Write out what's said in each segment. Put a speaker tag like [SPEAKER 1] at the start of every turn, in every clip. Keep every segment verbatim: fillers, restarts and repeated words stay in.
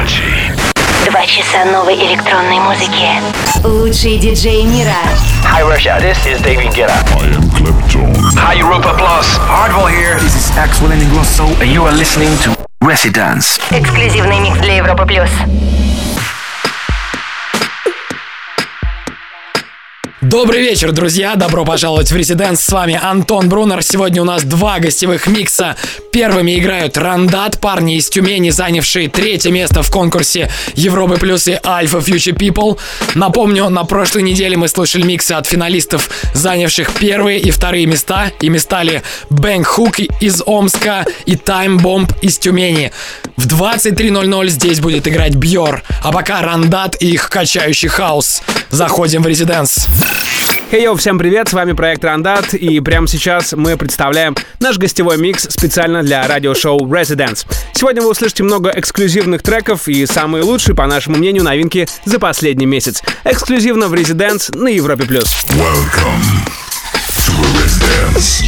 [SPEAKER 1] Два часа новой электронной музыки. Лучшие диджеи мира.
[SPEAKER 2] Hi Russia, this is David Guetta.
[SPEAKER 3] I am Clapton.
[SPEAKER 2] Hi Europa Plus. Hardwell here. This is Axel Ingrosso, and you are listening to Residence.
[SPEAKER 1] Эксклюзивный микс для Европы плюс.
[SPEAKER 4] Добрый вечер, друзья! Добро пожаловать в Residence. С вами Антон Брунер. Сегодня у нас два гостевых микса. Первыми играют Рандат, парни из Тюмени, занявшие третье место в конкурсе Европы плюс и Alpha Future People. Напомню, на прошлой неделе мы слушали миксы от финалистов, занявших первые и вторые места. Ими стали Bang Hook из Омска и Time Bomb из Тюмени. В двадцать три ноль ноль здесь будет играть Бьор. А пока Рандат и их качающий хаус. Заходим в Residence.
[SPEAKER 5] Хей-йоу, всем привет, с вами проект Рандат, и прямо сейчас мы представляем наш гостевой микс специально для радиошоу Residence. Сегодня вы услышите много эксклюзивных треков и самые лучшие, по нашему мнению, новинки за последний месяц. Эксклюзивно в Residence на Европе+.
[SPEAKER 3] Welcome to Residence.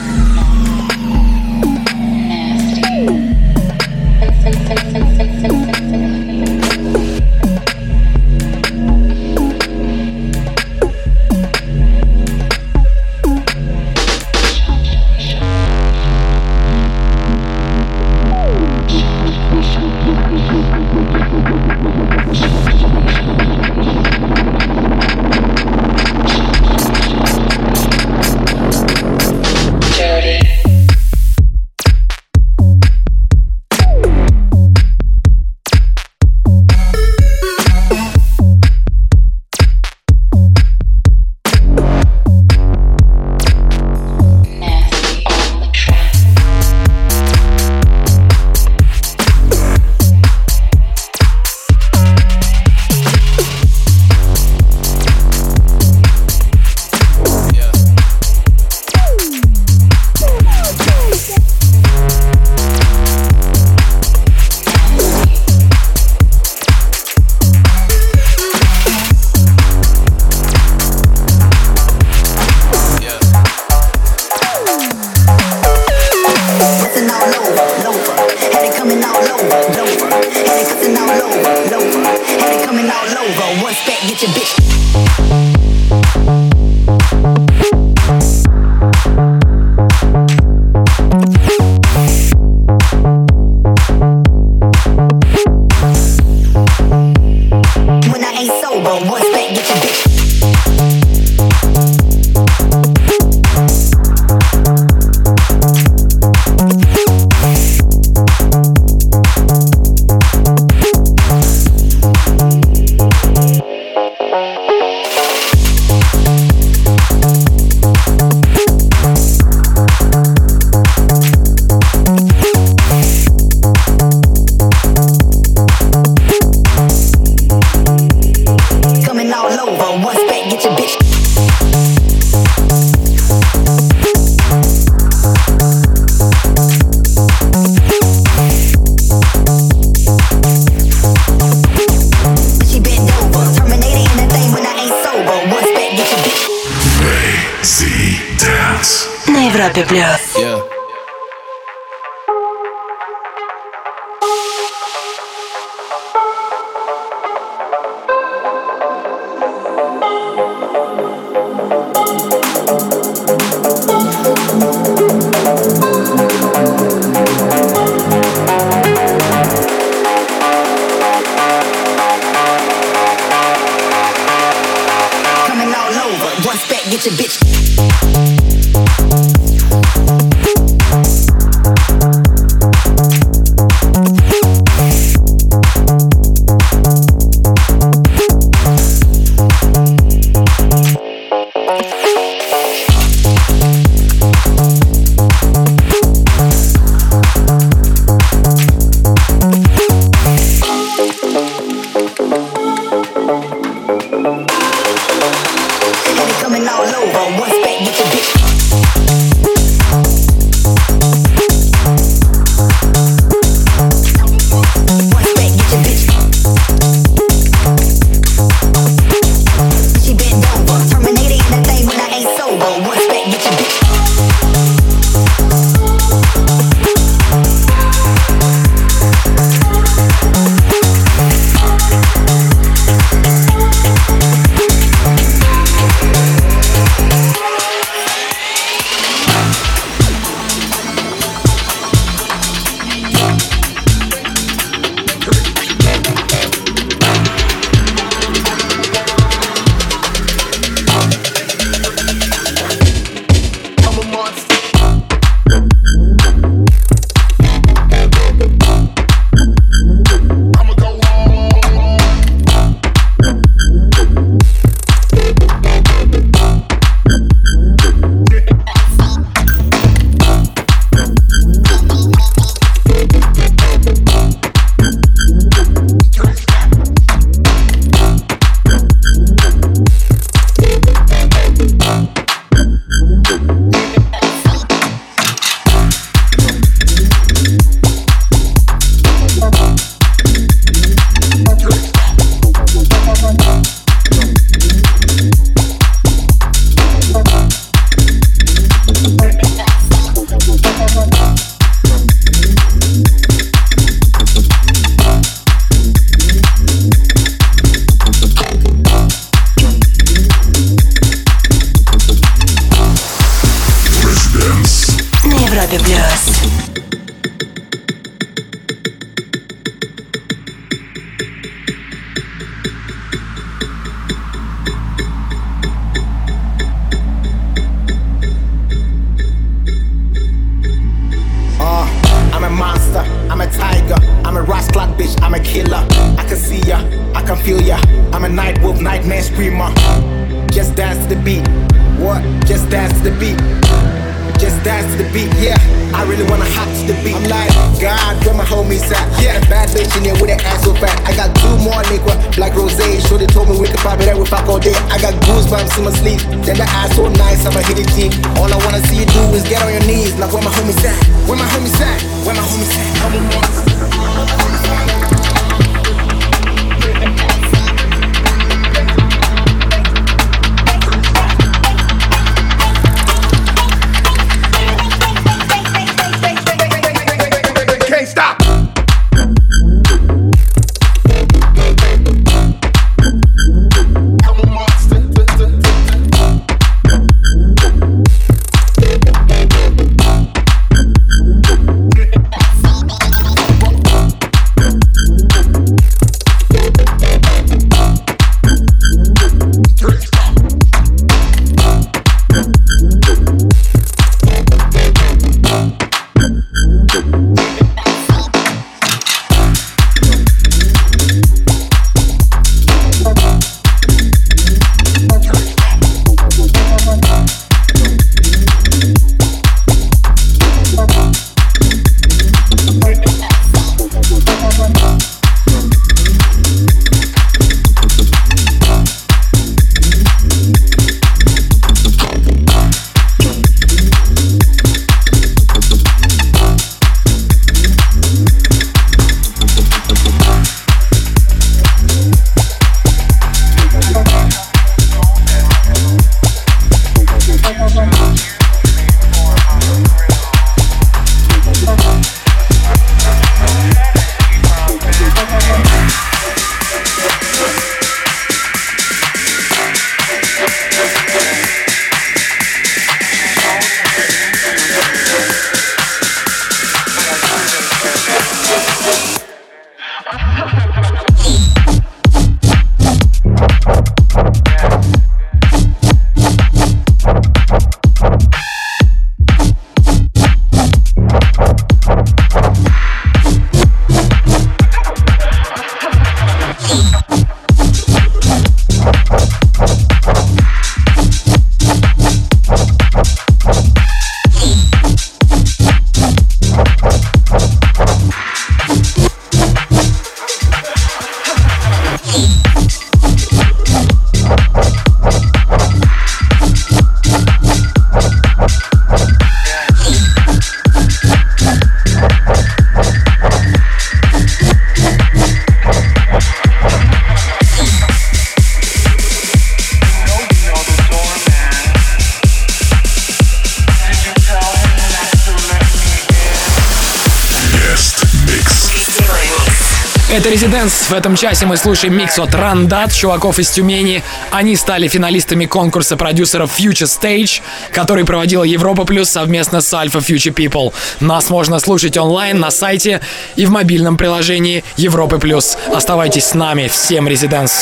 [SPEAKER 1] Yeah.
[SPEAKER 6] Coming all over, one spec, get your bitch. Coming all over.
[SPEAKER 1] Европе плюс.
[SPEAKER 7] I'm a monster, I'm a tiger, I'm a rascal bitch, I'm a killer. I can see ya, I can feel ya. I'm a night wolf, nightmare screamer. Just dance to the beat. What? Just dance to the beat. Just dance to the beat, yeah. I really wanna hop to the beat. I'm like, God, where my homies at? Yeah, bad bitch in there with that ass so fat. I got two more liquor, black rosé. Shorty told me we could probably that we fuck all day. I got goosebumps in my sleep. Then the ass so nice, I'ma hit it deep. All I wanna see you do is get on your knees. Like where my homies at? Where my homies at? Where my homies at?
[SPEAKER 4] Это Residence. В этом часе мы слушаем микс от Рандат, чуваков из Тюмени. Они стали финалистами конкурса продюсеров Future Stage, который проводила Европа Плюс совместно с Alpha Future People. Нас можно слушать онлайн на сайте и в мобильном приложении Европы Плюс. Оставайтесь с нами. Всем Residence.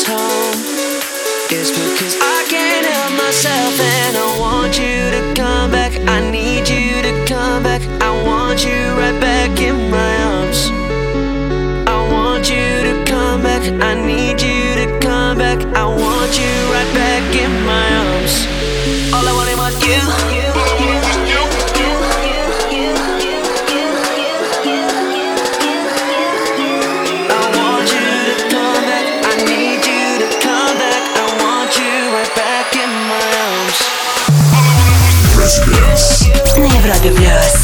[SPEAKER 8] home. It's because I can't help myself and I want you to come back. I need you to come back. I want you right back in my arms. I want you to come back. I need you to come back. I want you right back in my arms. All I wanted was you, you, you, you, you, you, you, you, you, you. I want you to come back. I need you to come back. I want you right back in my arms.
[SPEAKER 3] Residence.
[SPEAKER 1] На Европе Плюс.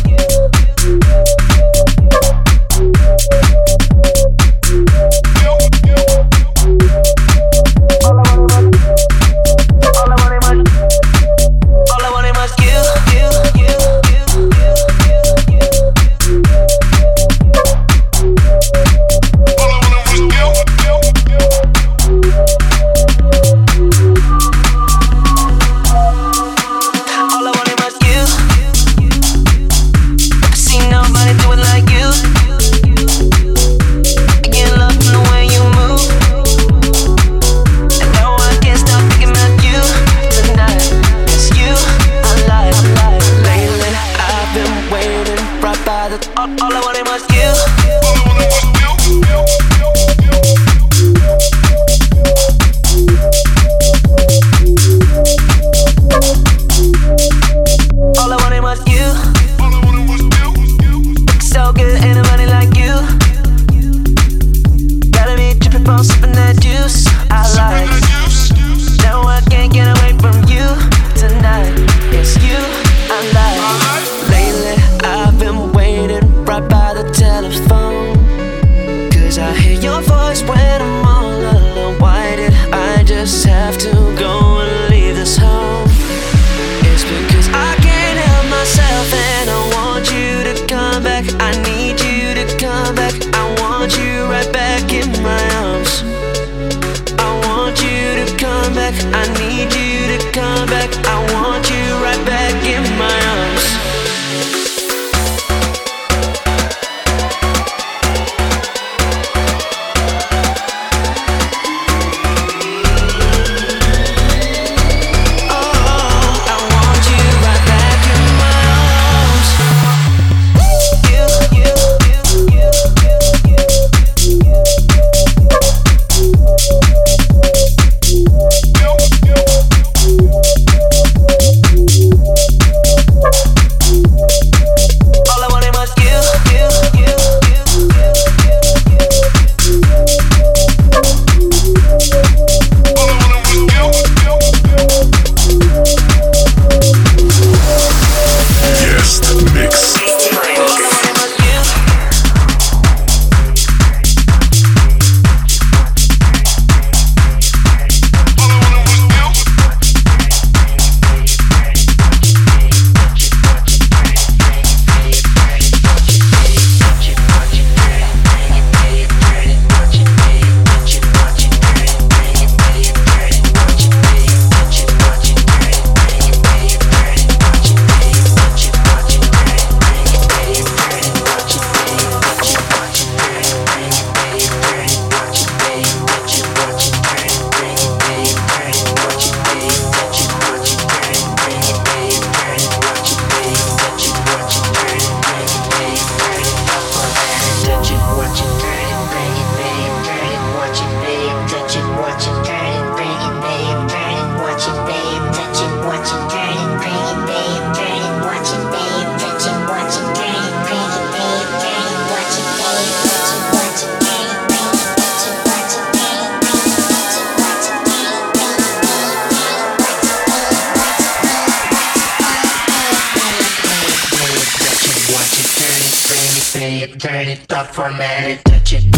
[SPEAKER 9] turn it up, format it, touch it,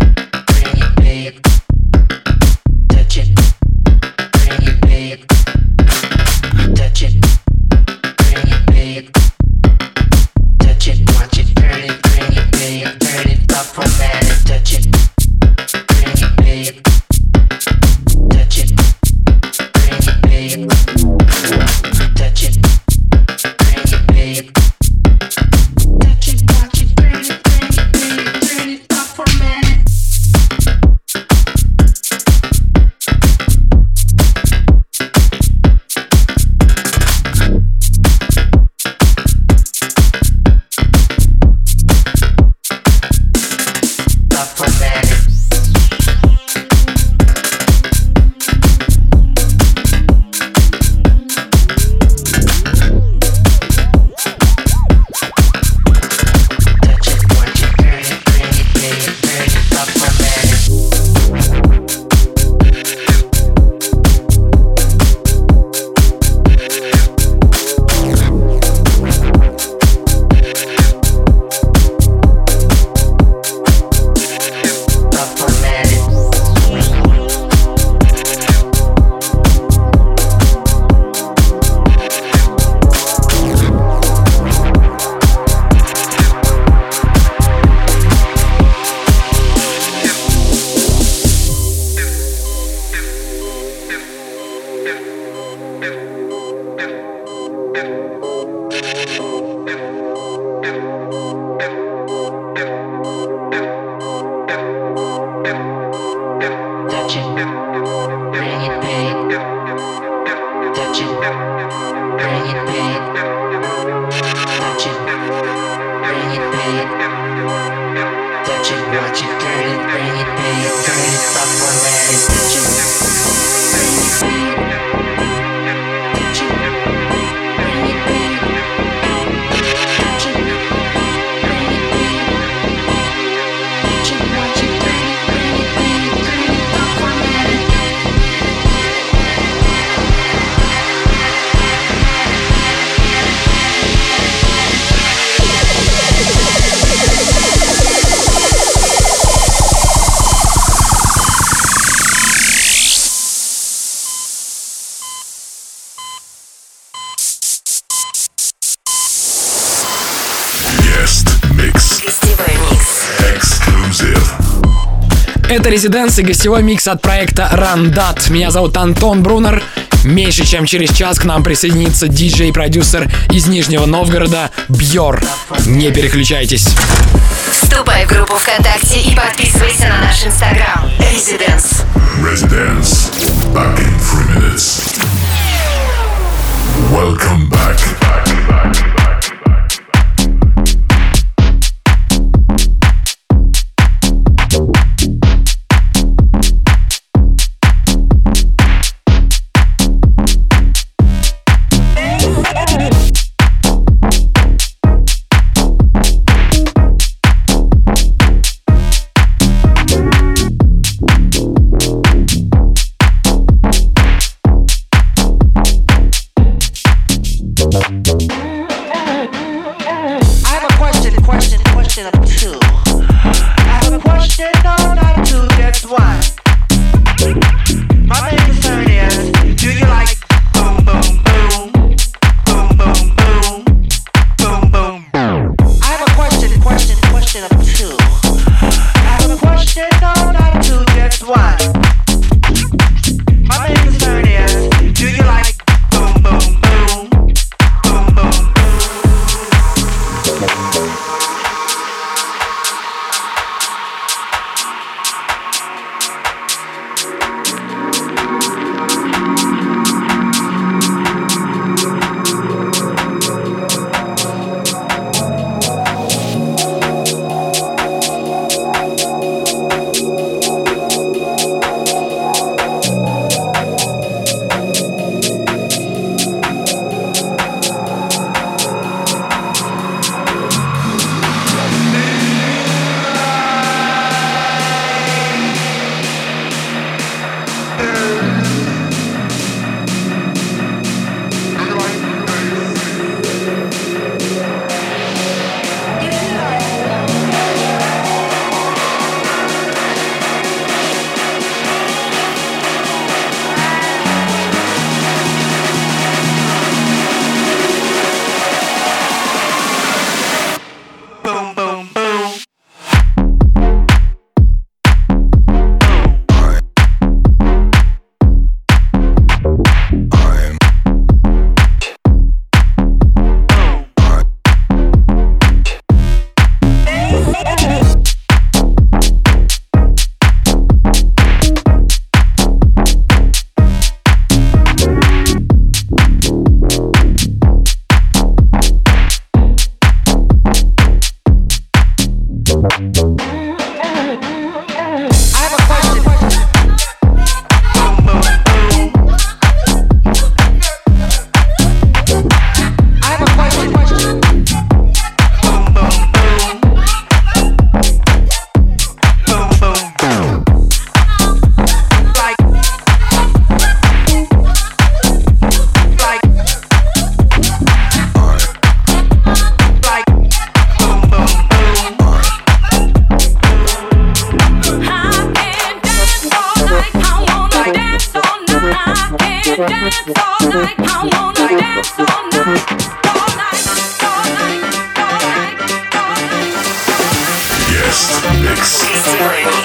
[SPEAKER 9] bring it, babe. Touch it, bring it, babe. Touch it, bring it, babe. Touch it, watch it, turn it, bring it, babe. Turn it up, format it, touch it, bring it, babe. Touch it, bring it, babe. Touch it, bring it, babe. Touch it, watch it, turn it, bring it, babe. Turn it up, format it. bring it, babe. Touch it, bring it, babe. Touch it, bring it, babe. Touch it, watch it, turn it, bring it, babe. Turn it up for me. Touch it, bring it, babe. Touch it, bring it, babe. Touch it, bring it, babe. Touch it, watch it, turn it, bring it, babe. Turn it up for me.
[SPEAKER 3] Guest mix.
[SPEAKER 1] Гостевой микс.
[SPEAKER 3] Exclusive.
[SPEAKER 4] Это «Резиденс» и гостевой микс от проекта Randad. Меня зовут Антон Брунер. Меньше чем через час к нам присоединится диджей-продюсер из Нижнего Новгорода Бьор. Не переключайтесь.
[SPEAKER 1] Вступай в группу ВКонтакте и подписывайся на наш инстаграм. Residence.
[SPEAKER 3] Residence. Back in three minutes. Welcome back. Guest mix.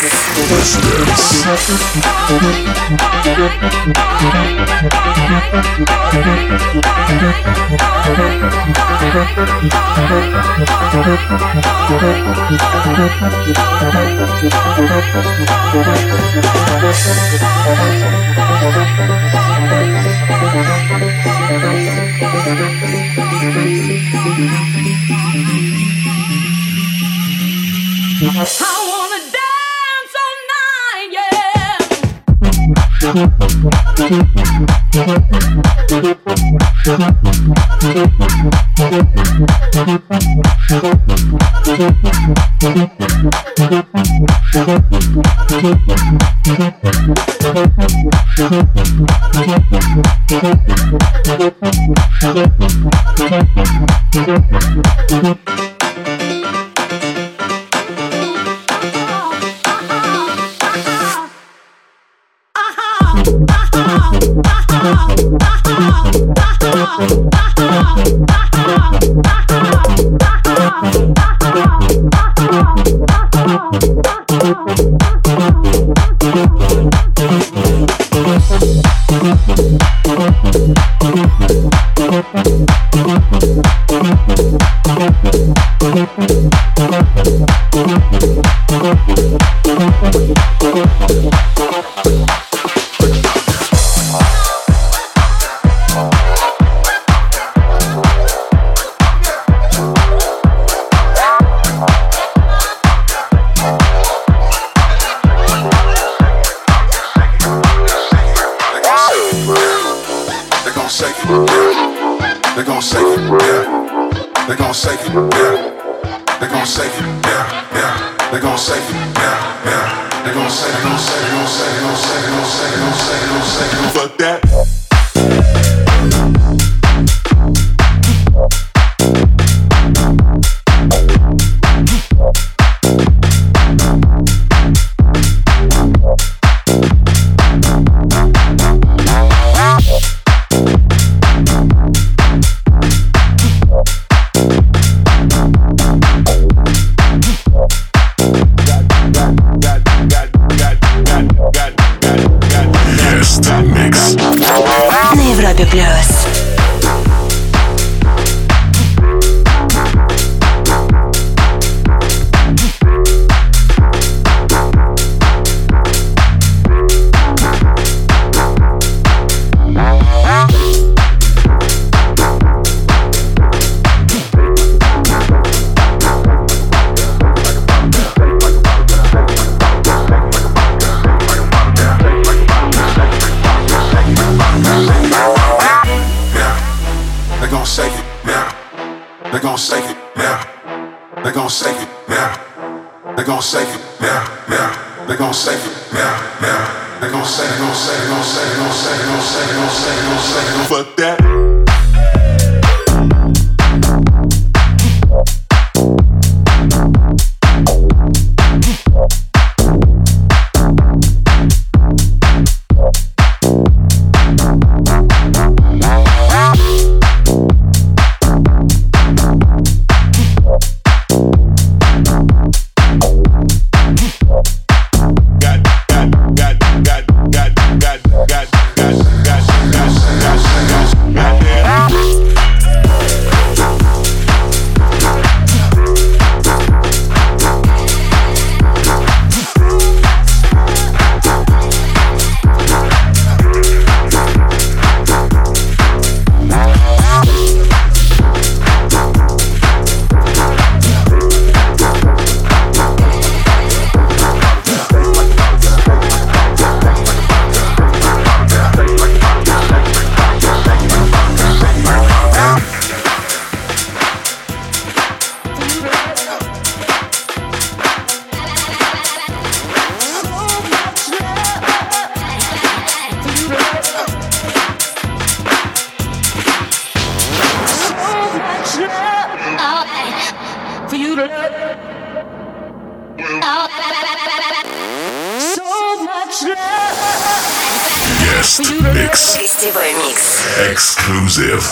[SPEAKER 3] Guest mix.
[SPEAKER 1] Гостевой микс.
[SPEAKER 3] Exclusive.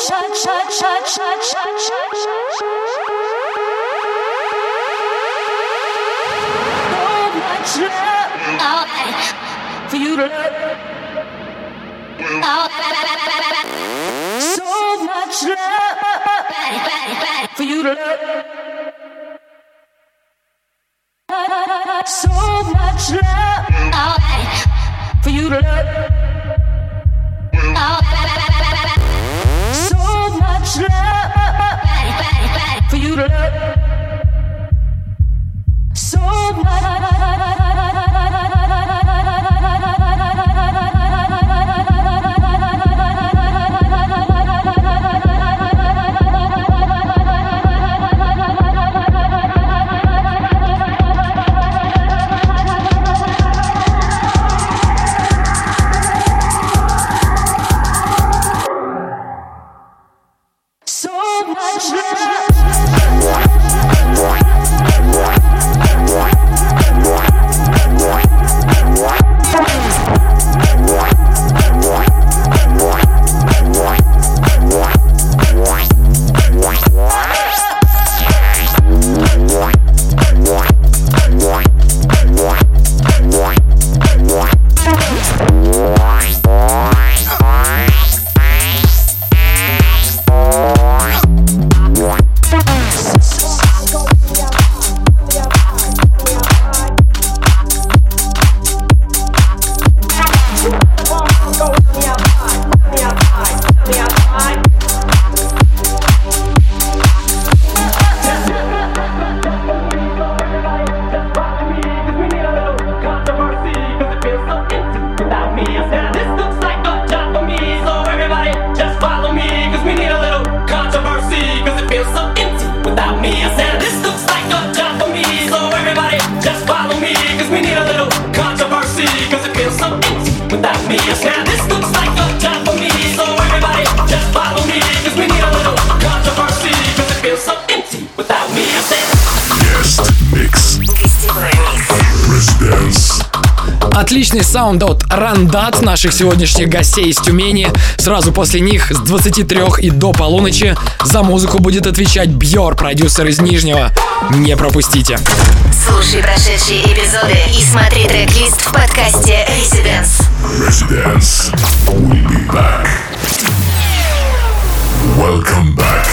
[SPEAKER 10] For you to love, so much love for you to love, so much love for you to love, so much love for you to love, so much.
[SPEAKER 4] Отличный саунд от Рандат, наших сегодняшних гостей из Тюмени. Сразу после них с двадцати трёх и до полуночи за музыку будет отвечать Бьор, продюсер из Нижнего. Не пропустите.
[SPEAKER 1] Слушай прошедшие эпизоды и смотри трек-лист в подкасте Residence.
[SPEAKER 3] Residence. We'll be back. Welcome back.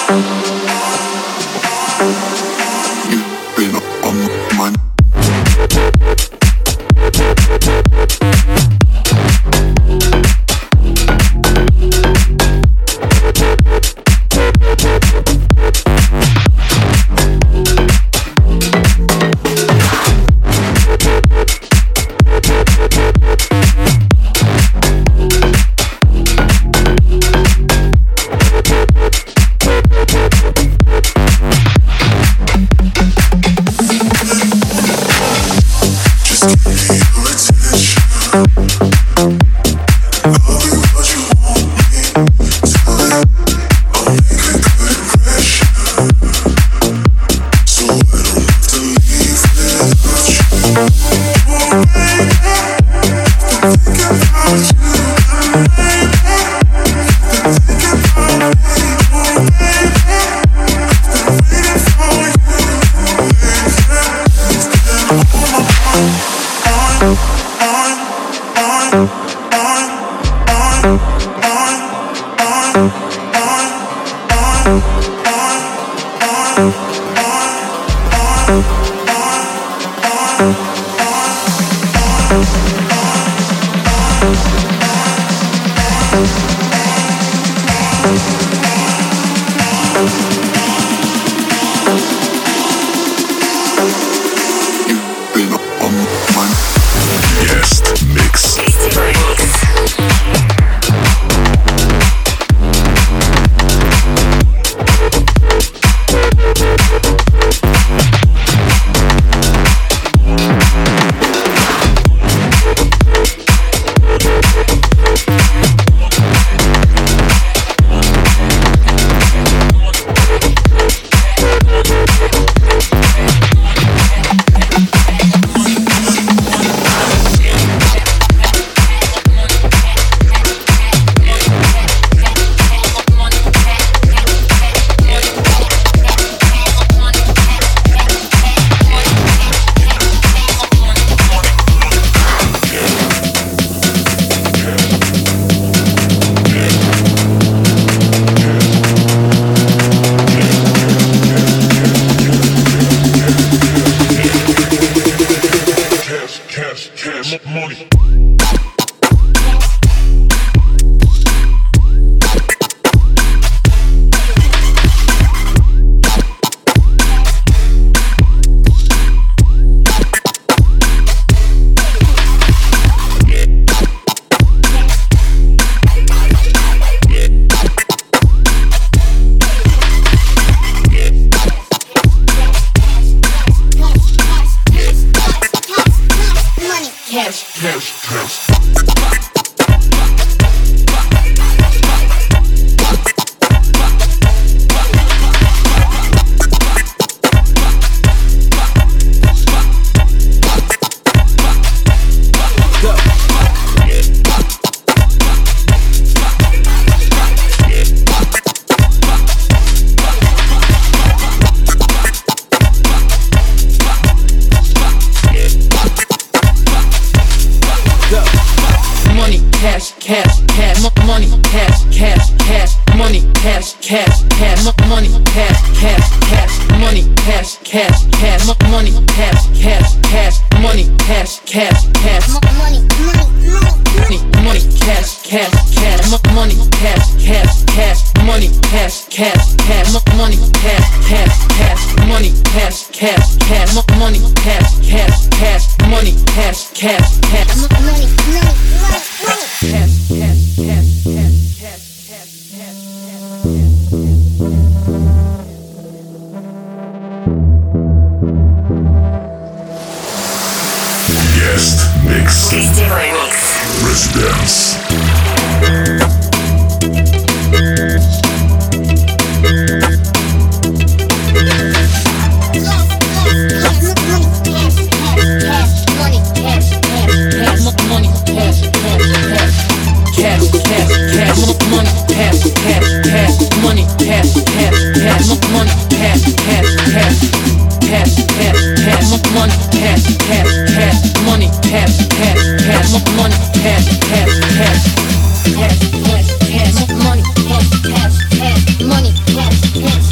[SPEAKER 10] Money, cash, cash, money, cash, cash,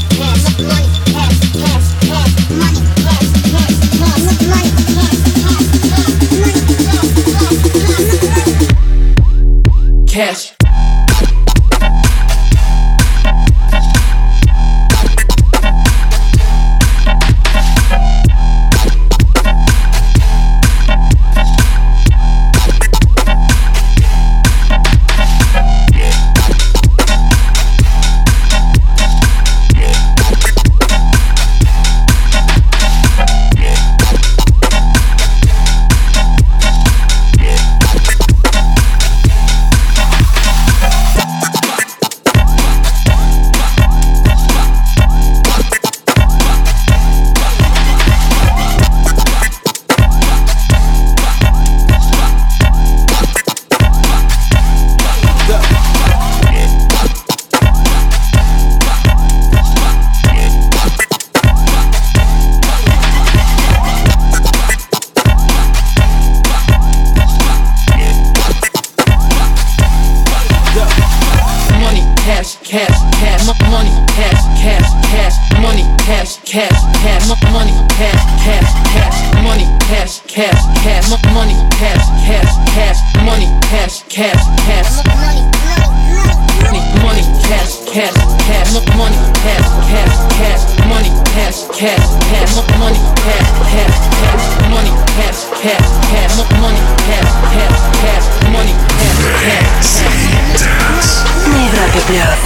[SPEAKER 4] Money, cash, cash, cash, money, cash, cash, cash, money, cash, cash, cash, money, cash, cash, cash, money, cash, cash, cash, money, cash, cash, cash, money, money, cash, cash, cash, money, cash, cash, cash, money, cash, cash, cash, money, cash, cash, cash, money, cash, cash, cash, money, cash, cash, cash, money, cash, cash, cash.
[SPEAKER 1] На Европе Плюс.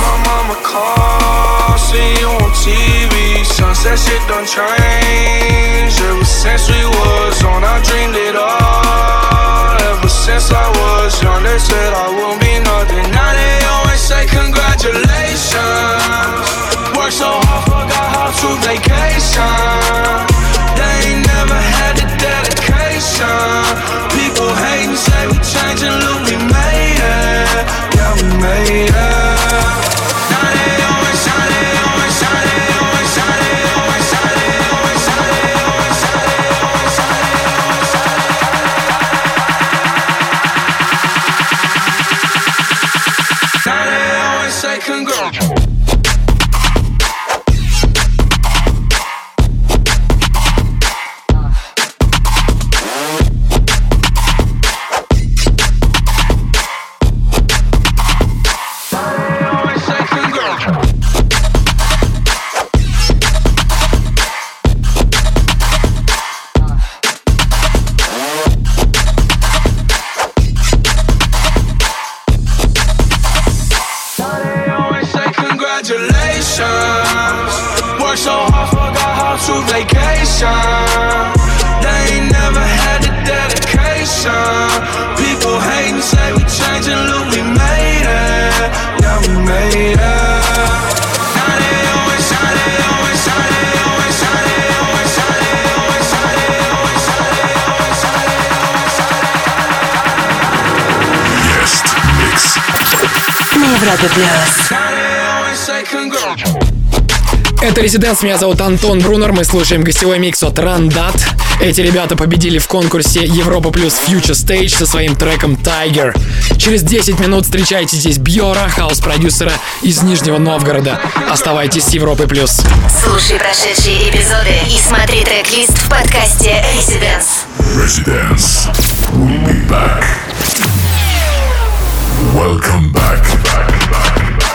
[SPEAKER 11] See you on T V, sunset shit done changed. Ever since we was on, I dreamed it all. Ever since I was young, they said I won't be nothing. Now they always say congratulations. Worked so hard, forgot how to vacation. They ain't never had the dedication. People hate and say we changing, look, we made it. Yeah, we made it. Worked so hard, forgot how to vacation. They ain't never had the dedication. People hate and say we changing, look, we made it. Yeah, we made it. Now they always, now they always, now they always, now they always, now they always, now they always, now they always, now they always, now they always.
[SPEAKER 3] Guest mix.
[SPEAKER 1] На Европе Плюс.
[SPEAKER 4] Это Residence, меня зовут Антон Брунер, мы слушаем гостевой микс от Randad. Эти ребята победили в конкурсе Европа Плюс Future Stage со своим треком Tiger. Через десять минут встречайте здесь Бьора, хаус-продюсера из Нижнего Новгорода. Оставайтесь с Европой Плюс.
[SPEAKER 1] Слушай прошедшие эпизоды и смотри трек-лист в подкасте Residence.
[SPEAKER 3] Residence. We'll be back. Welcome back. back, back, back.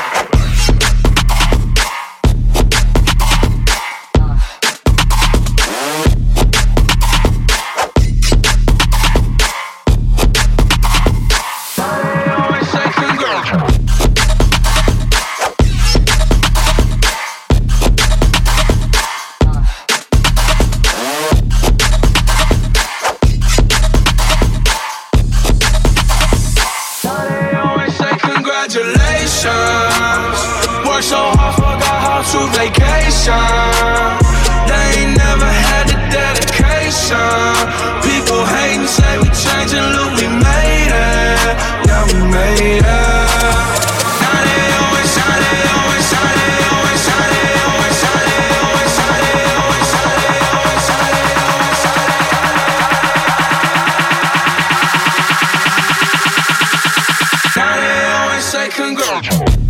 [SPEAKER 11] Worked so hard, forgot how to vacation. They ain't never had the dedication. People hate and say we changing, look, we made it. Yeah, we made it. Now they always, now they always, now they always, now they always, now they always, now they always, now they always, now they always, now they always. Now they always say congrats.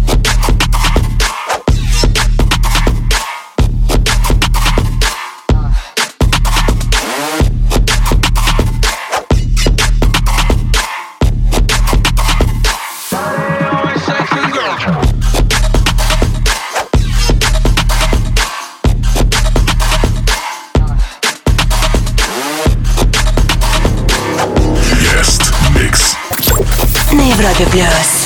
[SPEAKER 1] На Европе Плюс.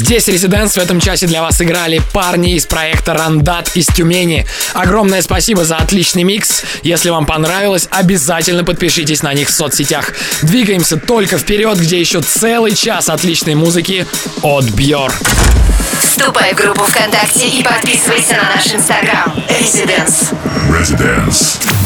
[SPEAKER 4] Здесь Residents в этом часе для вас играли парни из проекта Рандат из Тюмени. Огромное спасибо за отличный микс. Если вам понравилось, обязательно подпишитесь на них в соцсетях. Двигаемся только вперед, где еще целый час отличной музыки от Björk.
[SPEAKER 1] Вступай в группу ВКонтакте и подписывайся на наш инстаграм. Residents.
[SPEAKER 3] Residence.